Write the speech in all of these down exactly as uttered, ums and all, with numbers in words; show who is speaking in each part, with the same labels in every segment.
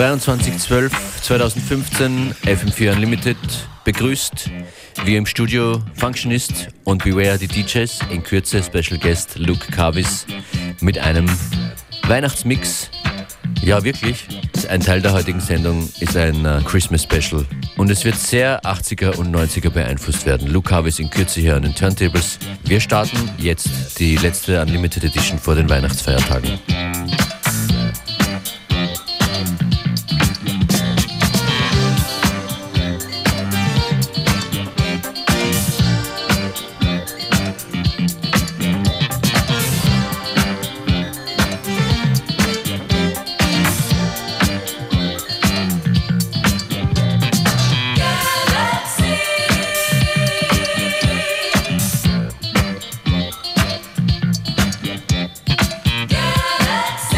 Speaker 1: zweiundzwanzig zwölf zweitausendfünfzehn F M vier Unlimited begrüßt. Wir im Studio Functionist und Beware die D Js. In Kürze Special Guest Luke Carvis mit einem Weihnachtsmix. Ja, wirklich. Ein Teil der heutigen Sendung ist ein uh, Christmas Special. Und es wird sehr achtziger und neunziger beeinflusst werden. Luke Carvis in Kürze hier an den Turntables. Wir starten jetzt die letzte Unlimited Edition vor den Weihnachtsfeiertagen.
Speaker 2: Galaxy.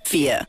Speaker 2: vier.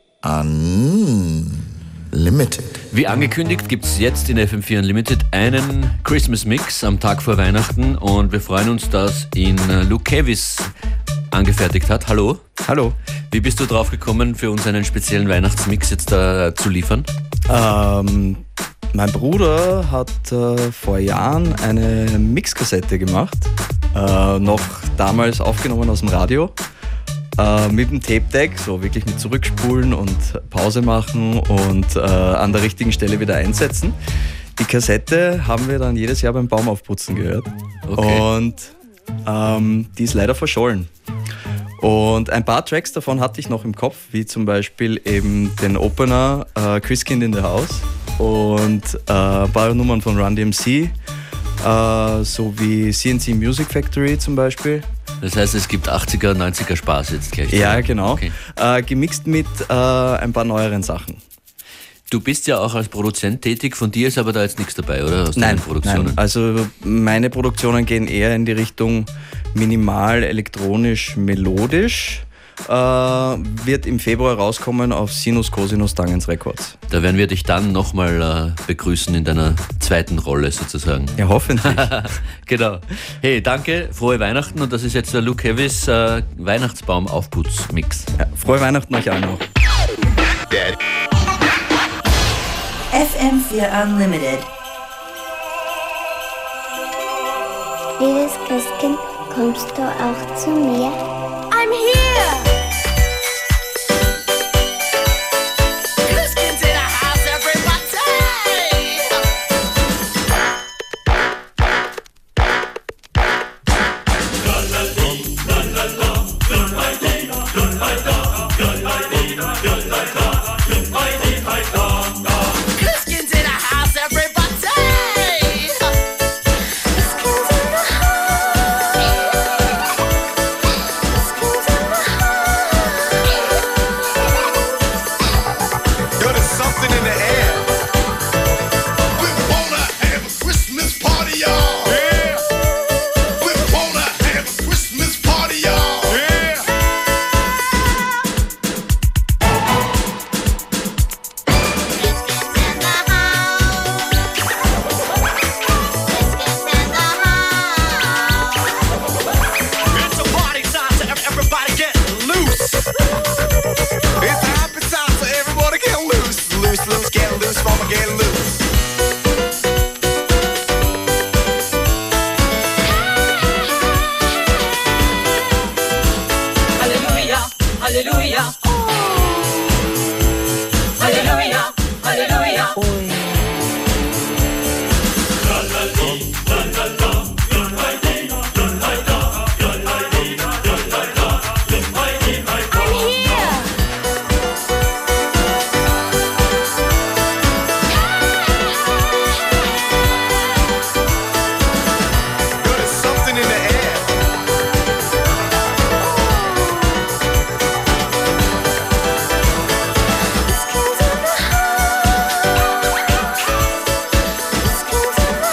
Speaker 3: Unlimited.
Speaker 1: Wie angekündigt gibt es jetzt in F M vier Unlimited einen Christmas Mix am Tag vor Weihnachten und wir freuen uns, dass ihn Luke Kavis angefertigt hat. Hallo.
Speaker 4: Hallo.
Speaker 1: Wie bist du drauf gekommen, für uns einen speziellen Weihnachtsmix jetzt da zu liefern?
Speaker 4: Ähm, mein Bruder hat äh, vor Jahren eine Mixkassette gemacht, äh, noch damals aufgenommen aus dem Radio, äh, mit dem Tape-Deck, so wirklich mit Zurückspulen und Pause machen und äh, an der richtigen Stelle wieder einsetzen. Die Kassette haben wir dann jedes Jahr beim Baumaufputzen gehört.
Speaker 1: Okay.
Speaker 4: Und ähm, die ist leider verschollen. Und ein paar Tracks davon hatte ich noch im Kopf, wie zum Beispiel eben den Opener äh, Christkind in the House und äh, ein paar Nummern von Run D M C, äh, sowie C N C Music Factory zum Beispiel.
Speaker 1: Das heißt, es gibt achtziger, neunziger Spaß jetzt gleich.
Speaker 4: Ja, genau.
Speaker 1: Okay.
Speaker 4: Äh, gemixt mit äh, ein paar neueren Sachen.
Speaker 1: Du bist ja auch als Produzent tätig, von dir ist aber da jetzt nichts dabei, oder? Aus
Speaker 4: Nein,
Speaker 1: deinen Produktionen?
Speaker 4: nein, also meine Produktionen gehen eher in die Richtung minimal, elektronisch, melodisch. Äh, wird im Februar rauskommen auf Sinus Cosinus Tangens Records.
Speaker 1: Da werden wir dich dann nochmal äh, begrüßen in deiner zweiten Rolle sozusagen.
Speaker 4: Ja, hoffentlich.
Speaker 1: Genau. Hey, danke, frohe Weihnachten und das ist jetzt der Luke Kavis äh, Weihnachtsbaum-Aufputz-Mix.
Speaker 4: Ja, frohe Weihnachten euch allen noch.
Speaker 2: F M vier Unlimited.
Speaker 5: Liebes Christkind, kommst du auch zu mir?
Speaker 6: I'm here! Christkin's in the house, everybody! Christkin's in the house, everybody!
Speaker 5: Christkind in the
Speaker 7: Yo, there's something in the air. We wanna have a Christmas party, y'all. Yeah. We wanna have a Christmas party, y'all. Yeah.
Speaker 6: It's a party time, so ev- everybody get loose.
Speaker 7: It's a happy time, so everybody get loose. Loose, loose, get loose, mama, get loose.
Speaker 6: Hallelujah, hallelujah. Hallelujah, hallelujah.
Speaker 5: I'm here!
Speaker 7: Yo, there's something in the air.
Speaker 5: Christkind in the house. Christkind in the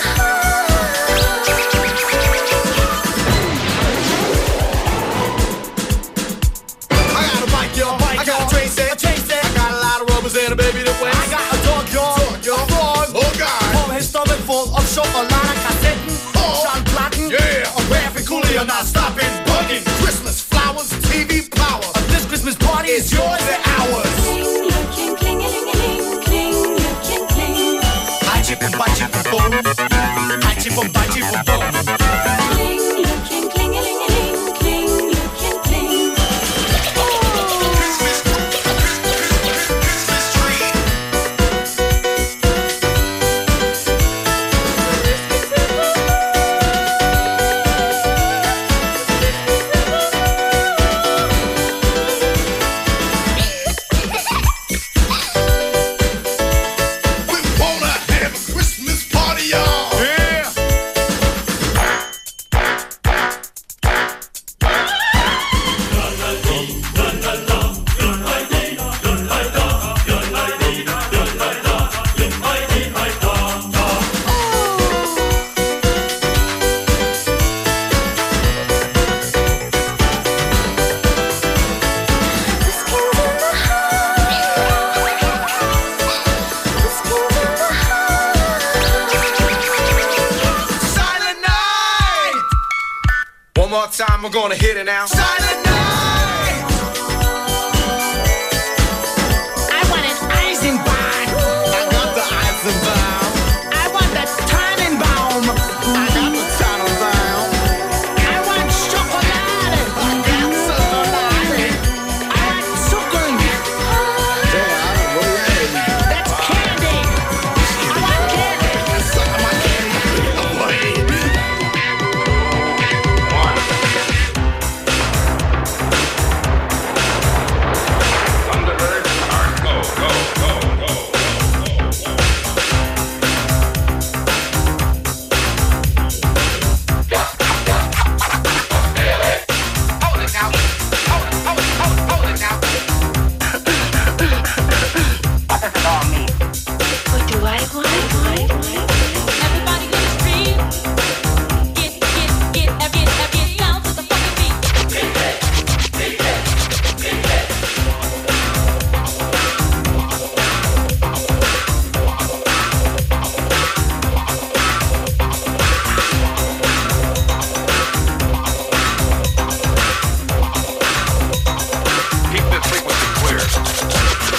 Speaker 7: I got a bike, yo. I got a train set. I got a lot of rubbers and a baby to wet.
Speaker 6: I got a dog, y'all.
Speaker 7: yo. Oh, God.
Speaker 6: Vom his stomach full of Schokolade-Kassetten,
Speaker 7: Oh.
Speaker 6: Schallplatten,
Speaker 7: Yeah.
Speaker 6: und Graphically you're not stopping, bugging.
Speaker 7: Christmas flowers, T V power.
Speaker 6: This Christmas party is yours and ours.
Speaker 5: Kling, klingelingeling, kling, kling, kling.
Speaker 6: Hi chip and bye chip and boom. Hi chip and bye chip and boom.
Speaker 5: Kling, kling, klingelingeling, kling, kling, kling.
Speaker 7: Christmas, Christmas tree. We wanna have a Christmas party, y'all. Yeah.
Speaker 6: we're gonna hit it now. Silent night.
Speaker 3: I want an Eisenbahn.
Speaker 6: I got the Eisenbahn.
Speaker 3: I want the Tannenbaum.
Speaker 6: I got the Tannenbaum.
Speaker 3: I want Schokolade.
Speaker 6: I got Schokolade.
Speaker 3: I want Zuckern. That's candy. I want candy.
Speaker 6: Suck my candy. Away.
Speaker 7: Thunderbird, start, go, go, go, go.
Speaker 6: Hold it now. Hold it, hold it, hold it, hold it now.
Speaker 5: What do I want?
Speaker 8: Everybody in the street, get, get, get, get, get, get down to the fucking beat.
Speaker 7: Keep the frequency clear.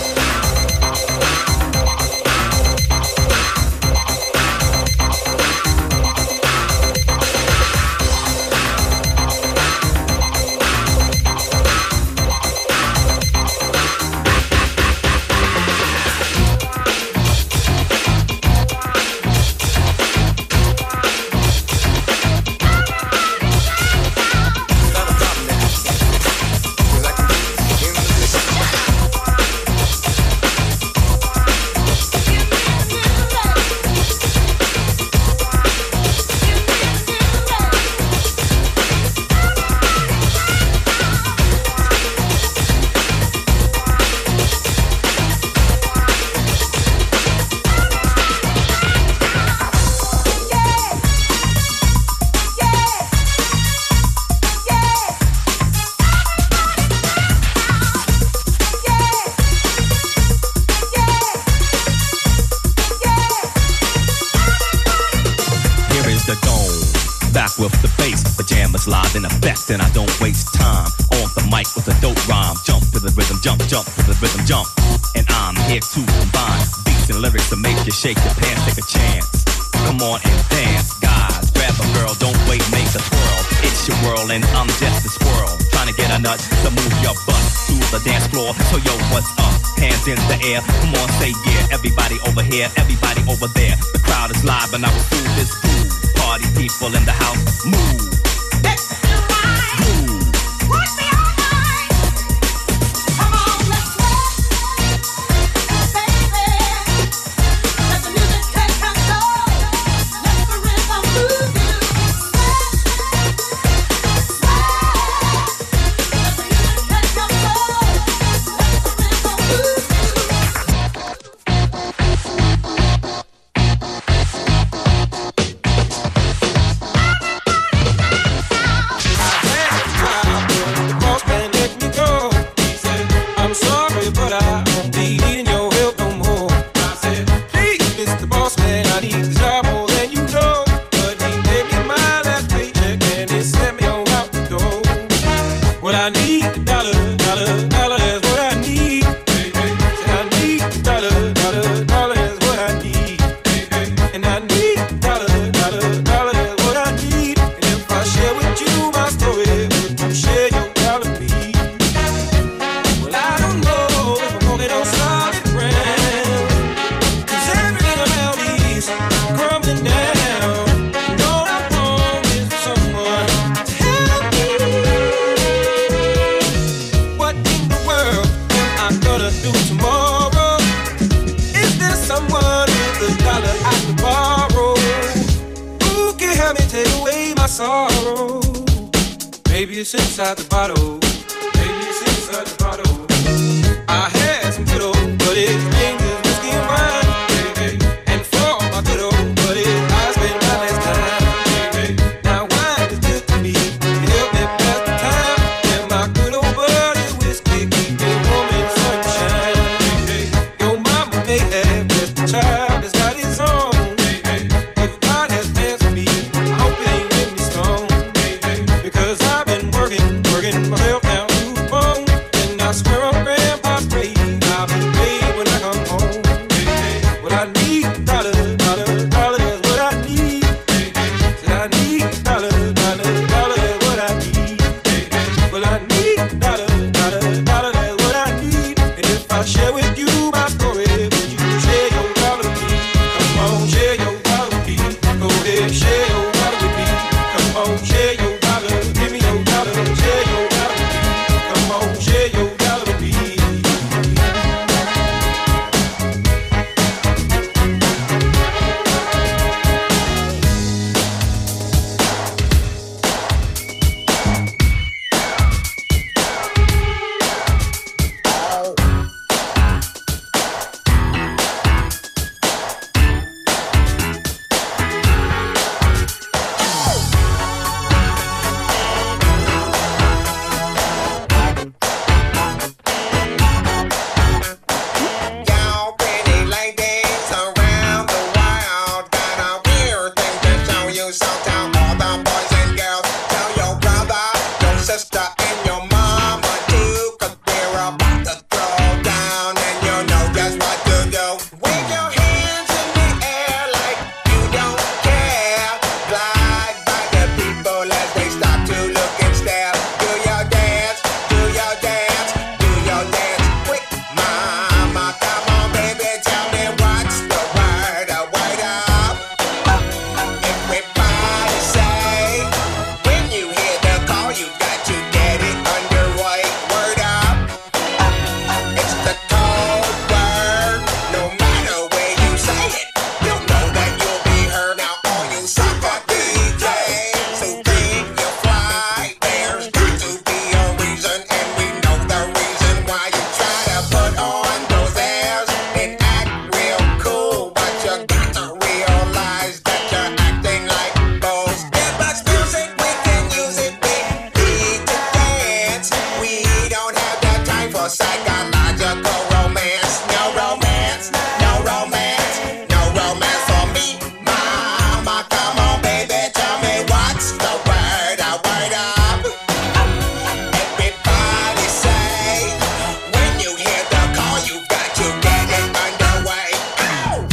Speaker 9: Here is the dome, back with the bass. Pajamas live in effect, and I don't waste time. On the mic with a dope rhyme. Jump to the rhythm, jump, jump to the rhythm, jump. And I'm here to combine beats and lyrics to make you shake your pants, take a chance. Come on and dance, guys. Grab a girl, don't wait, make a twirl. It's your world, and I'm just a squirrel. Trying to get a nut to move your butt to the dance floor. So yo, what's up? Hands in the air, come on, say yeah. Everybody over here, everybody over there. The crowd is live, and I will do this groove. Party people in the house, move. Groove.
Speaker 10: sorrow. Maybe it's inside the bottle. Maybe it's inside the bottle. I had some good old, but it's dangerous whiskey and wine. And for my good old buddies, I spent my last time. Now wine is good to me, it helped me pass the time. And my good old buddy whiskey keep me warm in sunshine. Your mama may have just a child that's got his own. If God has plans for me, I hope it ain't in me stone. Because I working myself down to the bone. And I swear on Grandpa's grave, I'll be paid when I come home. Hey, hey. What I need, dollars, dollars, dollars, what I need. Hey, hey. Said I need dollars, dollars, dollars, what I need. Hey, hey. Well, I need dollars, dollars, dollars, what I need. And if I share with you my story, would you share your dollar with me? Come on, share your dollar with me. Go ahead, share your dollar with me. Come on, share your dollar. Give me your dollar, share your dollar with me. Come on, share your dollar with me.
Speaker 11: Y'all pretty ladies around the world got a weird thing to show you. So tell all the boys and girls, tell your brother, your sister, and your mama too, 'cause we're about to throw down and you know just what to do. Wave your hands in the air like you don't care. Glide by the people as they stop to look and stare. Do your dance, do your dance, do your dance quick, mama. Come on, baby, tell me what's the word, a word up. Everybody say, when you hear the call, you got to get it underway. Word up. It's the code word. No matter where you say it, you'll know that you'll be heard. Now all you sucker D Js who think you're fly, there's got to be a reason, and we know the reason why you try to put on those airs and act real cool, but you got to realize that you're acting like fools. Give us music, we can use it. We need to dance. We don't have the time for psychological romance. No romance, no romance, no romance for me, mama. Come on, baby, tell me what's the word, a word up. Everybody say, when you hear the call, you got to get it underway. Ow!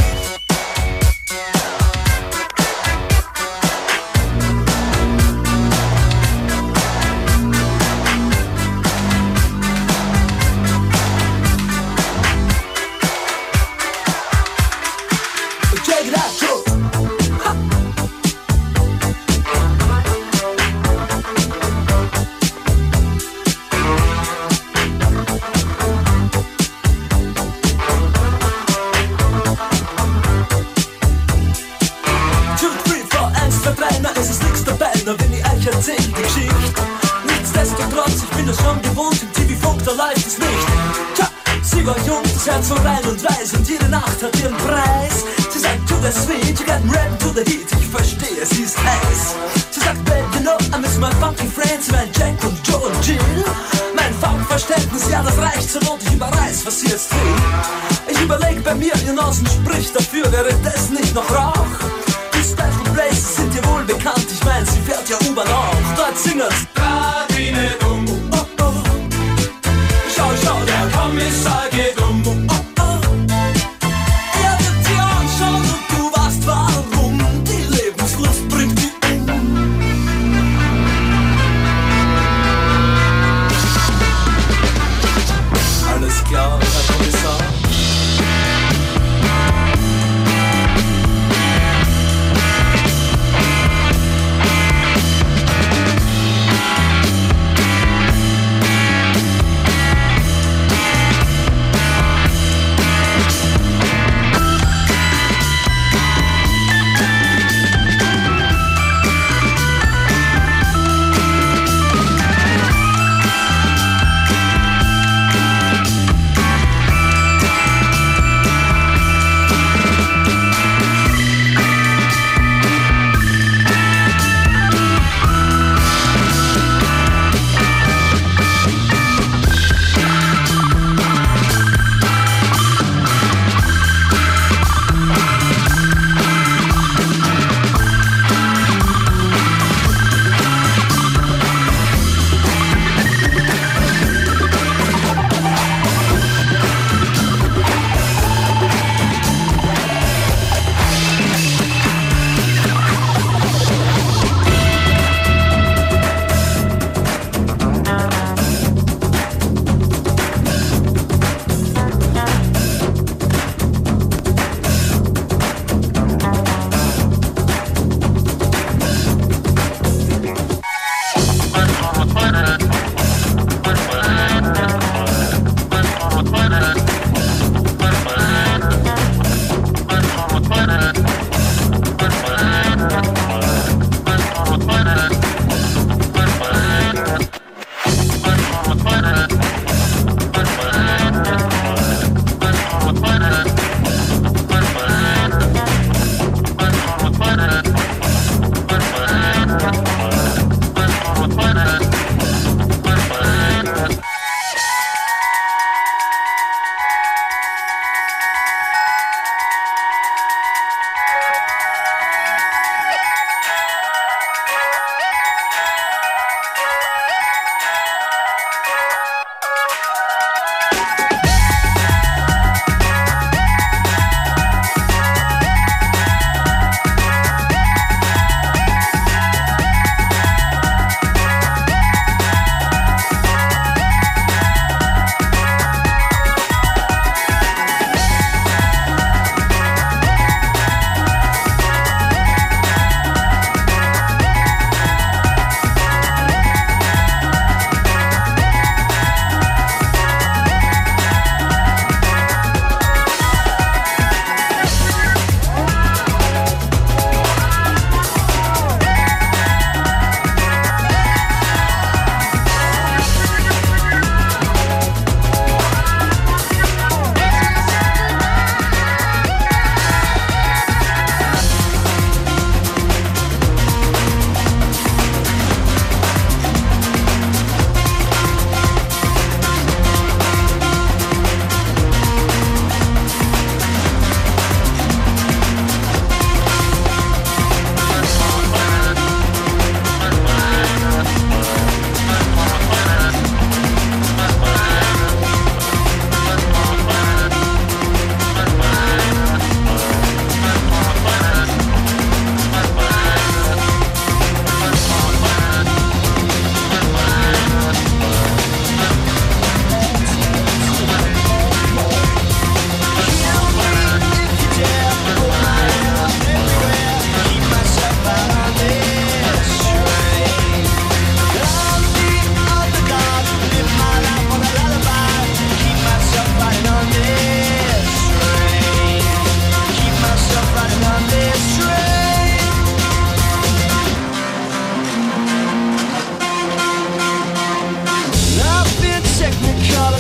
Speaker 12: Check it out, Joe. Two, three, four, eins, zwei, drei, na, es ist nix dabei, na, wenn ich euch erzähl die Geschichte. Nichtsdestotrotz, ich bin das schon gewohnt, im T V-Funk, da läuft es nicht. Tja, sie war jung, das Herz so rein und weiß, und jede Nacht hat ihren Preis. Sie sagt, to the sweet, you got ready to the heat, ich verstehe, sie ist heiß. Sie sagt, babe, you know, I miss my funky friends, mein Jack und Joe und Jill. Mein Funkverständnis, ja, das reicht so und ich überreiß, was sie jetzt will. Ich überleg bei mir, ihr Nasen spricht dafür, wäre das nicht noch Rauch? Die Special Places sind dir wohl bekannt, ich mein, sie fährt ja U-Bahn auch. Dort singen's grad wie ne Dumbo. Oh, oh. Schau, schau, der Kommissar geht um. Oh, oh. Er wird dir anschauen und du weißt warum. Die Lebenslust bringt die um. Alles klar, Herr Kommissar.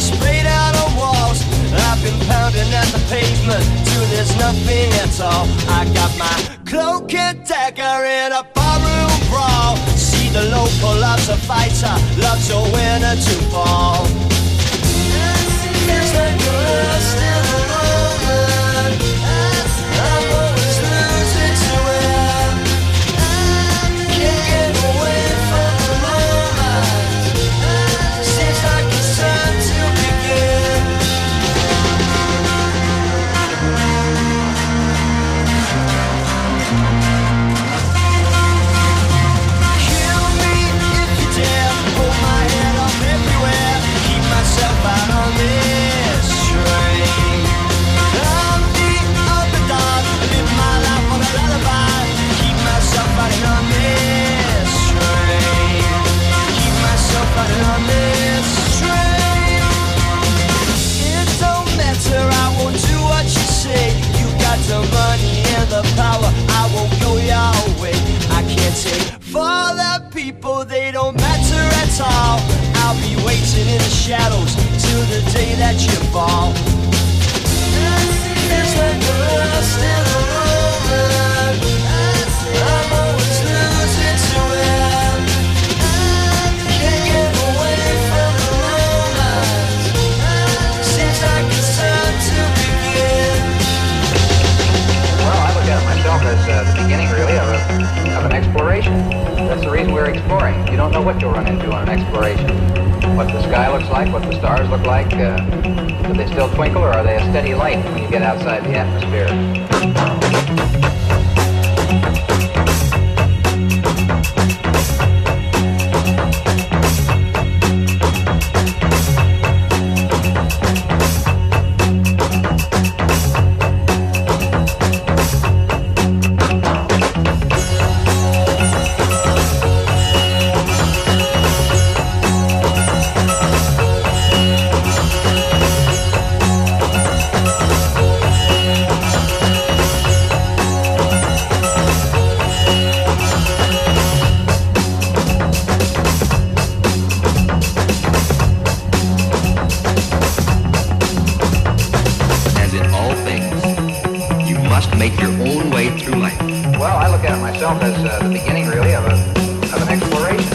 Speaker 13: sprayed out on walls. I've been pounding at the pavement till there's nothing at all. I got my cloak and dagger in a barroom brawl. See the local loves a fighter, loves a winner to fall. Feels like you're lost in the moment. I'm always losing to it. Can't get away from the moment. Seems like it's time to begin. Kill me if you dare. Hold my head up everywhere. Keep myself out on this train. I'm the underdog. I live my life on a lullaby. Keep myself fighting on this train. Keep myself fighting on this train. It don't matter, I won't do what you say. You got the money and the power, I won't go your way. I can't take for the people, they don't matter at all. I'll be waiting in the shadows till the day that you fall. Feels like you're lost in the moment. I'm always losing to it. Can't get away from the moment. Seems like it's time to begin.
Speaker 14: Well, I look at myself as uh, the beginning, really, of, a, of an exploration. That's the reason we're exploring. You don't know what you'll run into on an exploration. What the sky looks like, what the stars look like. Uh, do they still twinkle, or are they a steady light when you get outside the atmosphere?
Speaker 15: As in all things, you must make your own way through life.
Speaker 14: Well, I look at myself as uh, the beginning, really, of, a, of an exploration.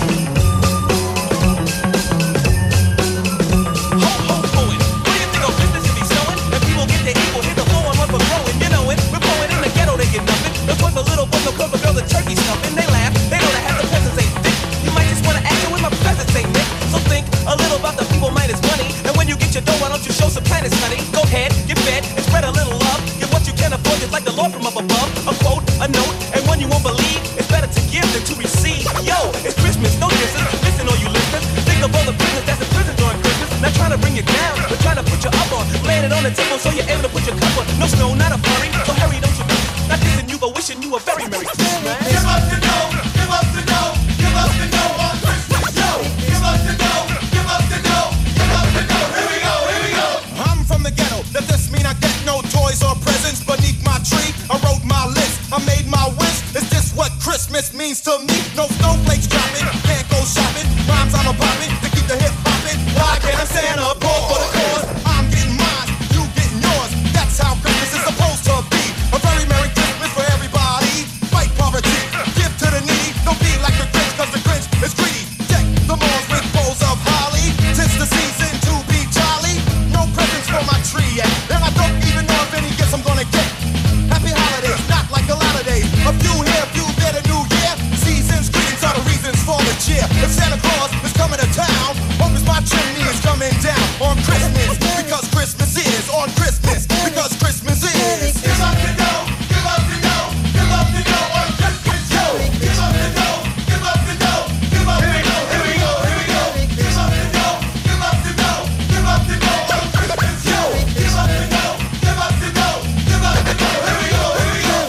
Speaker 10: So you're able to put your cup on. No snow, not a flurry. So hurry, don't you know? Not dissing you, but wishing you a very Merry Christmas.
Speaker 7: Give up the dough, give up the dough, give up the dough on Christmas, yo. Give up the dough, give up the dough, give up the dough. Here we go, here we go.
Speaker 16: I'm from the ghetto. Does this mean I get no toys or presents beneath my tree? I wrote my list, I made my wish. Is this what Christmas means to me? No snowflakes dropping, can't go shopping. Rhymes I'm a popping to keep the hip popping. Why can't I Santa Paul for the cause? I'm getting mine, you getting yours. That's how Christmas is supposed to be. A very Merry Christmas for everybody. Fight poverty, give to the needy. Don't be like the Grinch, cause the Grinch is greedy. Deck the malls with bowls of holly. Tis the season to be jolly. No presents for my tree yet, and I don't even know if any gifts I'm gonna get. Happy holidays, not like a lot of days. A few here, a few there, the new year. Seasons, greetings are the reasons for the cheer. If Santa Claus is coming to town, hope is my chimney is coming down on Christmas, because Christmas is on Christmas, because Christmas is.
Speaker 7: Give up the dough, give up the dough, give up the dough on Christmas, yo. Give up the dough, give up the dough, give up the dough. Here we go, here we go. Give up the dough, give up the dough, give up the dough on Christmas, yo. Give up the dough, give up the dough, give up the dough. Here we go, here we go.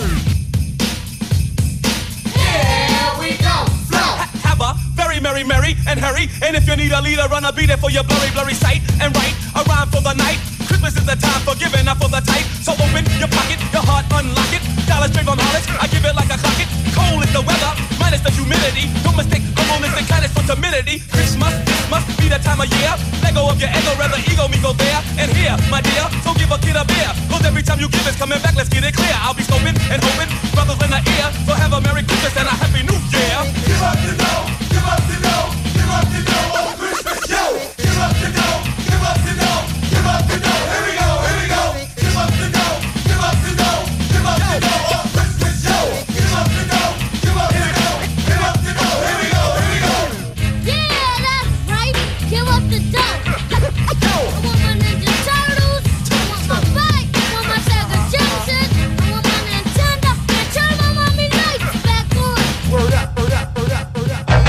Speaker 10: Here we go, flow. Have a very merry, merry and hurry. And if you need a leader, run, I'll be there for your blurry, blurry sight. And write a rhyme for the night. Christmas is the time for giving, not for the type. So open your pocket, your heart, unlock it. Dollar straight from knowledge, I give it like a clock it. Cold is the weather, minus the humidity. Don't mistake humbleness and kindness for timidity. Christmas, this must be the that time of year. Let go of your ego, rather ego me go there and here, my dear. So give a kid a beer, cause every time you give it's coming back, let's get it clear. I'll be scoping and hoping, brothers in the ear. So have a Merry Christmas and a Happy New Year.
Speaker 7: Give up the dough, give up the dough, give up the dough on Christmas, yo. Give up the dough, give up the dough, give up the dough. Here we go, here we go. Give up the dough, give up the dough, give up the dough on Christmas, yo. Give up the dough, give up the dough, give up the dough. Here we go, here we go.
Speaker 8: Yeah, that's right. Give up the dough. I want my Ninja Turtles. I want my bike. I want my Sega Genesis. I want my Nintendo. And turn my mommy lights back on.
Speaker 7: Word up, word up, word up, word up.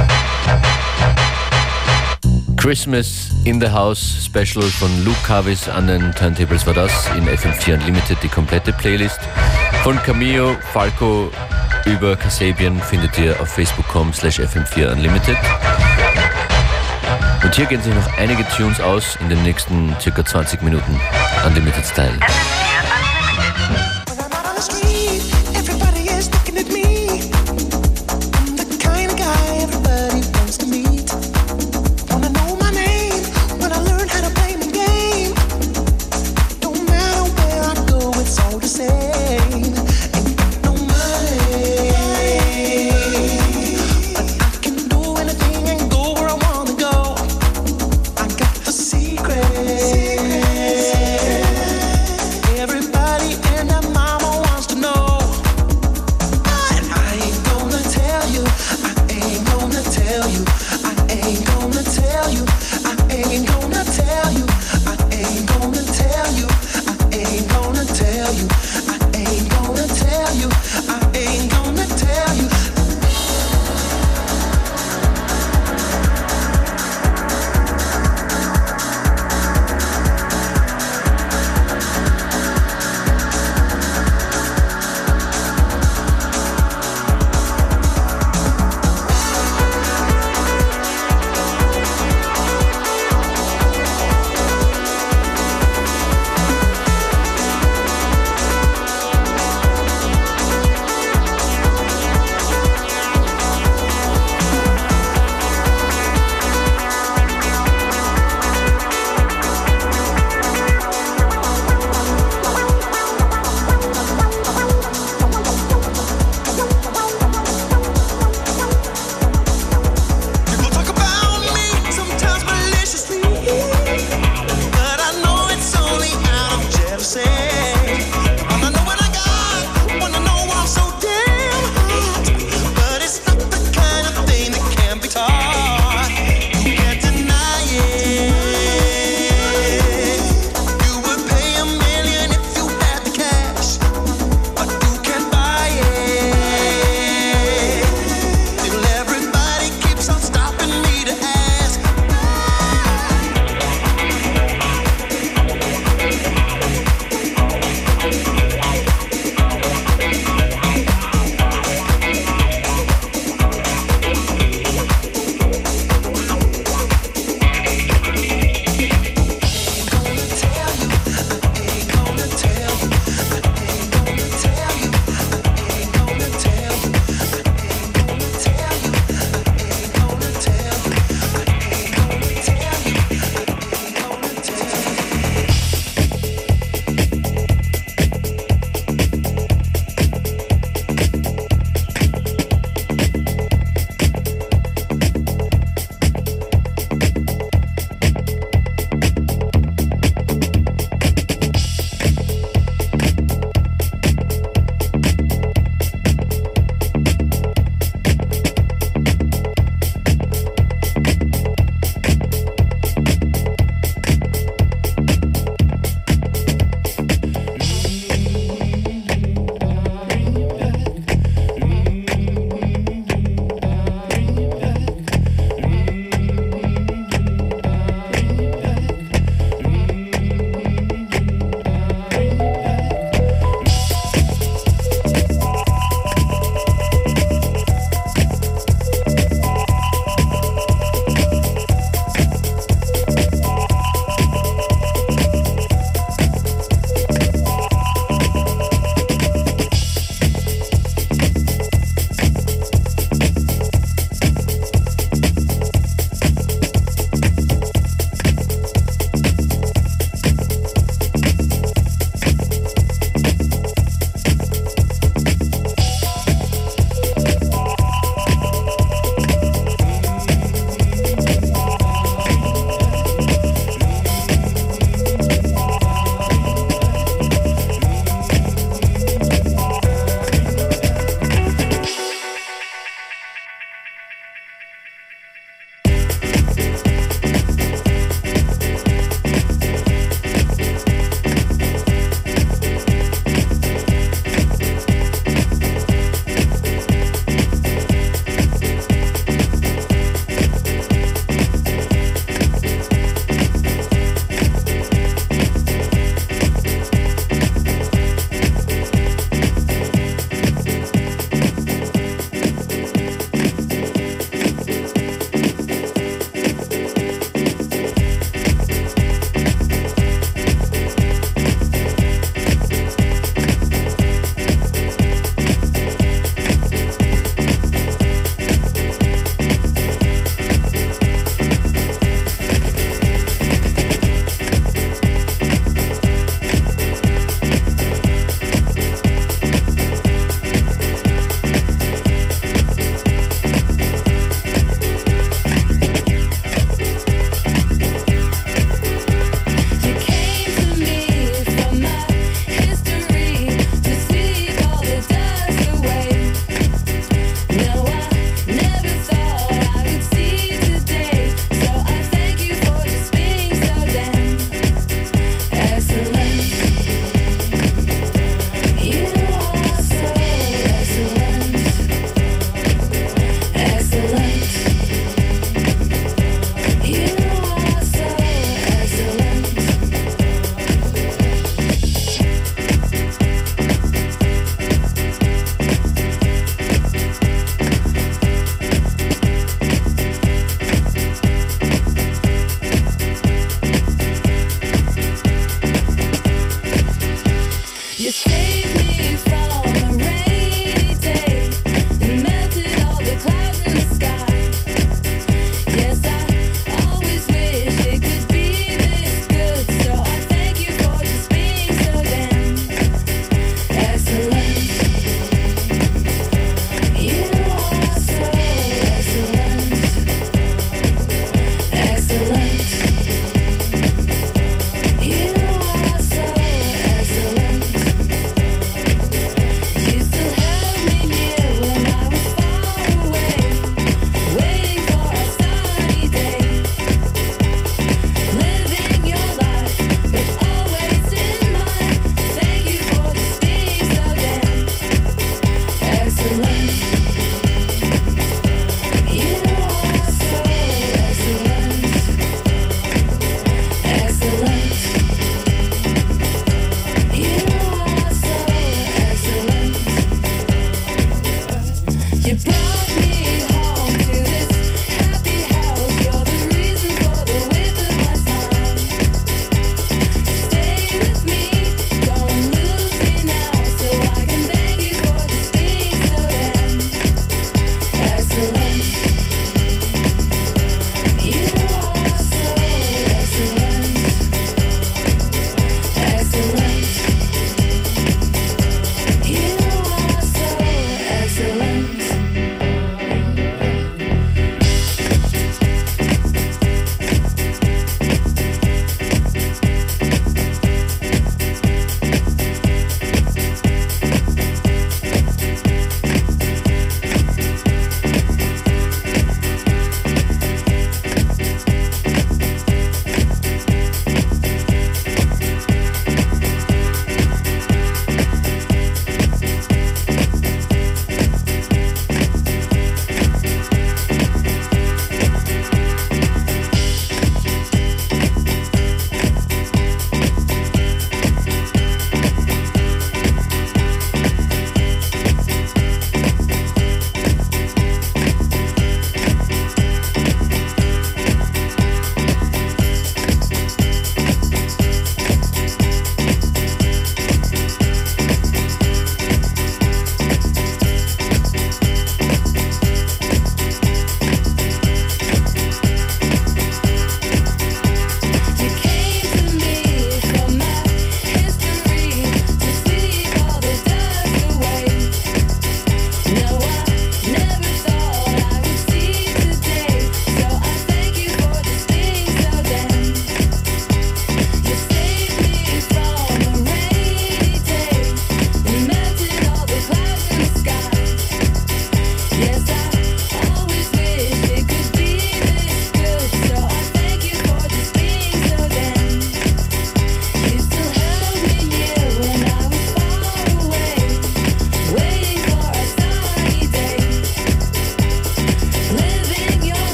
Speaker 1: Christmas in the House Special von Luke Carvis an den Turntables war das. In F M vier Unlimited die komplette Playlist. Von Camillo, Falco über Kasabian findet ihr auf facebook punkt com slash f m vier unlimited. Und hier gehen sich noch einige Tunes aus in den nächsten circa zwanzig Minuten. Unlimited Style.
Speaker 13: When I'm out on the street, everybody is looking at me. I'm the kind of guy everybody wants to meet. Wanna know my name when I learn how to play my game. No matter where I go, it's all the same. Ain't got no money, but I can do anything and go where I wanna go. I got the secret. Everybody and I'm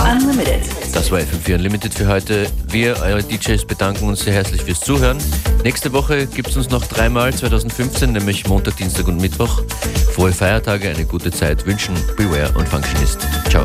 Speaker 2: Unlimited.
Speaker 1: Das war F M vier Unlimited für heute. Wir, eure D Js, bedanken uns sehr herzlich fürs Zuhören. Nächste Woche gibt es uns noch dreimal zwanzig fünfzehn, nämlich Montag, Dienstag und Mittwoch. Frohe Feiertage, eine gute Zeit wünschen Beware und Functionist. Ciao.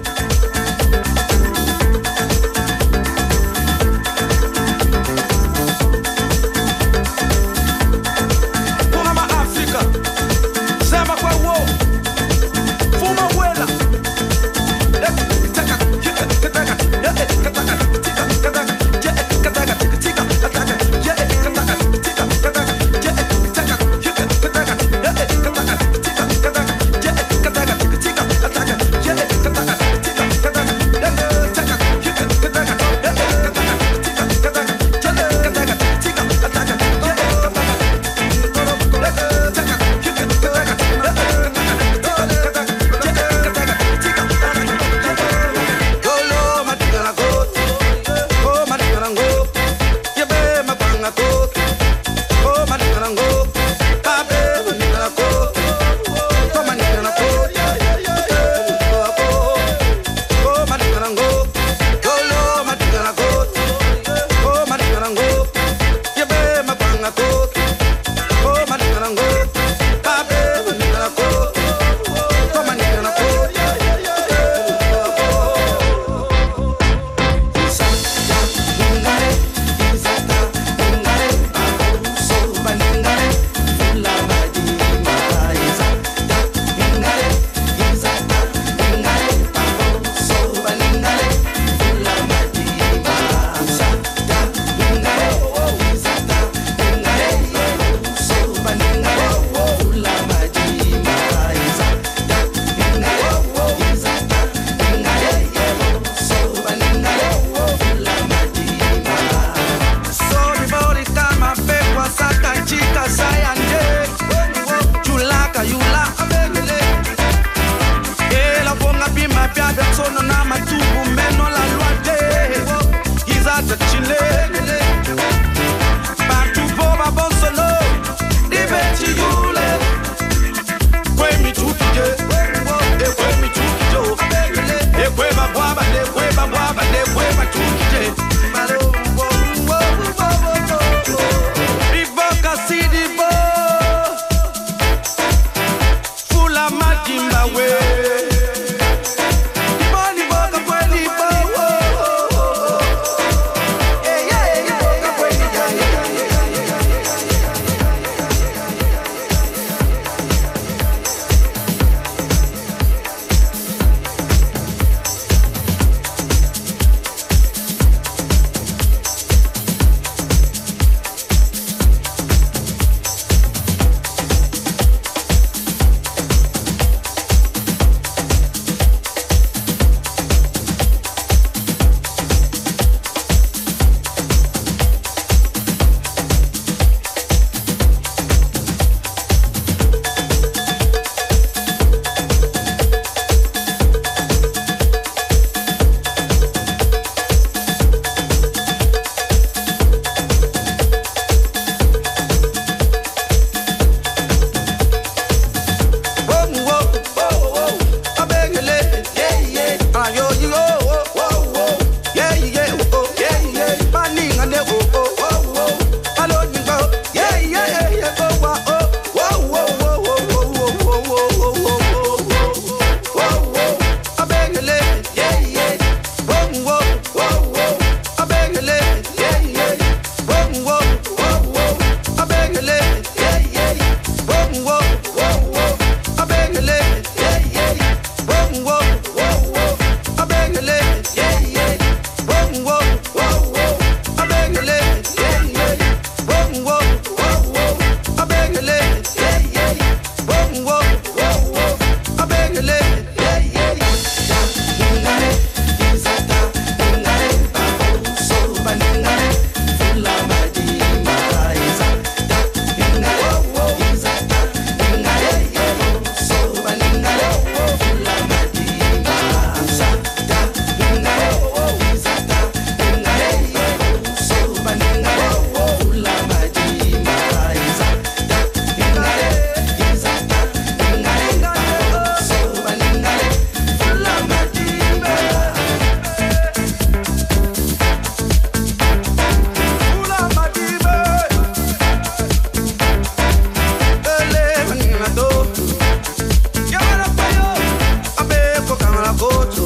Speaker 16: Full of my Jimba way. The money boy
Speaker 17: go to